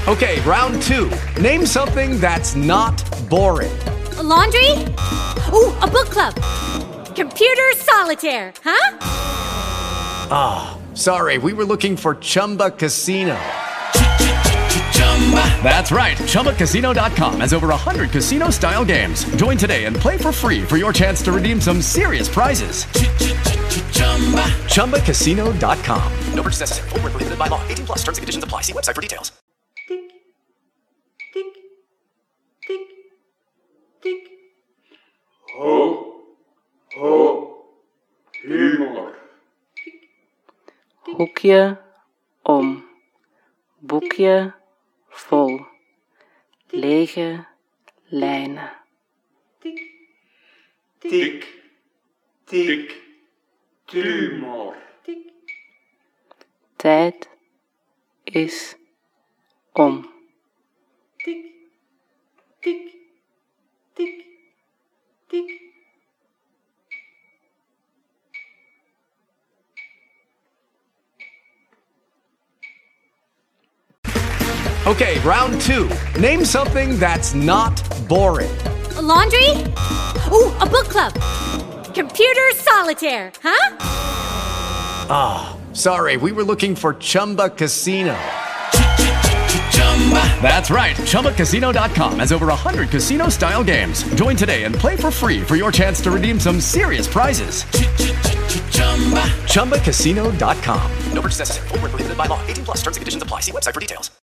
Okay, round two. Name something that's not boring. A laundry? Ooh, a book club. Computer solitaire, huh? Sorry, we were looking for Chumba Casino. That's right. ChumbaCasino.com has over 100 casino-style games. Join today and play for free for your chance to redeem some serious prizes. ChumbaCasino.com. No purchase necessary. Void where prohibited by law. 18 plus. Terms and conditions apply. See website for details. Tik, tik, tik, tik. Ho, ho, humor. Hoekje om, boekje vol, lege lijnen. Tik, Tik, tik, tumor. tik, Tijd is om. tik, tik, tik, tik. Okay, round two. Name something that's not boring. A laundry? Ooh, a book club. Computer solitaire, huh? Sorry, we were looking for Chumba Casino. That's right. ChumbaCasino.com has over 100 casino-style games. Join today and play for free for your chance to redeem some serious prizes. ChumbaCasino.com. No purchase necessary. Void where prohibited by law. 18 plus. Terms and conditions apply. See website for details.